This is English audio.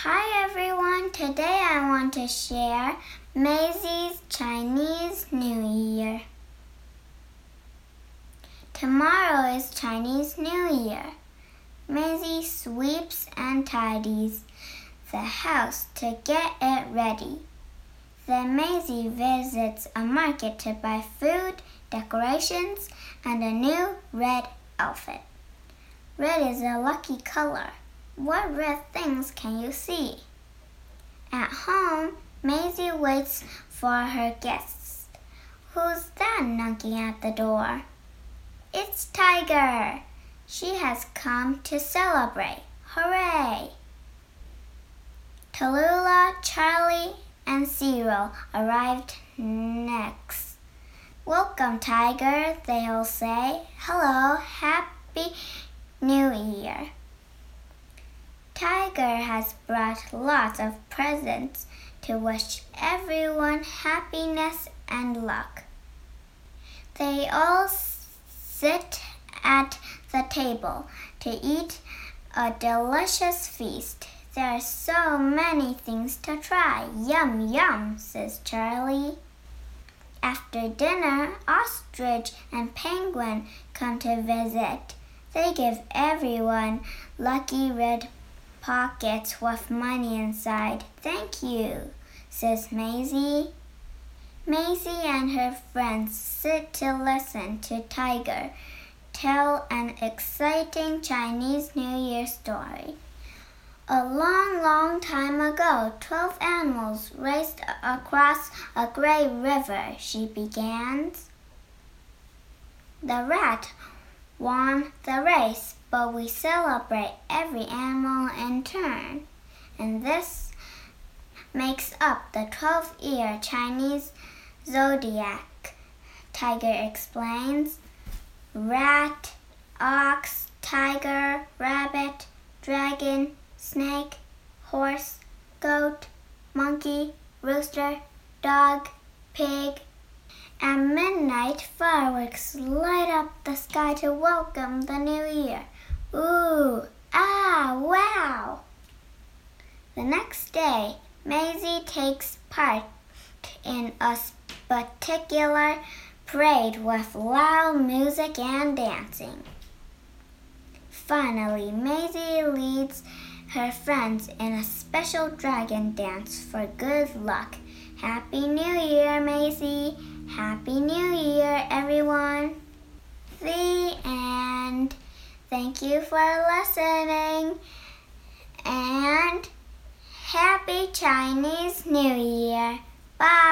Hi everyone, today I want to share Maisie's Chinese New Year. Tomorrow is Chinese New Year. Maisie sweeps and tidies the house to get it ready. Then Maisie visits a market to buy food, decorations, and a new red outfit. Red is a lucky color. What red things can you see? At home, Maisie waits for her guests. Who's that knocking at the door? It's Tiger. She has come to celebrate. Hooray! Tallulah, Charlie, and Cyril arrived next. Welcome, Tiger, they all say. Hello, Happy New Year. Tiger has brought lots of presents to wish everyone happiness and luck. They all sit at the table to eat a delicious feast. There are so many things to try. Yum, yum, says Charlie. After dinner, Ostrich and Penguin come to visit. They give everyone lucky red pockets with money inside. Thank you, says Maisie. Maisie and her friends sit to listen to Tiger tell an exciting Chinese New Year story. A long, long time ago, 12 animals raced across a great river, she begins. The rat won the race, but we celebrate every animal in turn, and this makes up the 12-year Chinese zodiac, Tiger explains. Rat, ox, tiger, rabbit, dragon, snake, horse, goat, monkey, rooster, dog, pig. At midnight, fireworks light up the sky to welcome the new year. Ooh, ah, wow! The next day, Maisie takes part in a spectacular parade with loud music and dancing. Finally, Maisie leads her friends in a special dragon dance for good luck. Happy New Year, Maisie! Happy New Year, everyone! The end. Thank you for listening, and Happy Chinese New Year! Bye!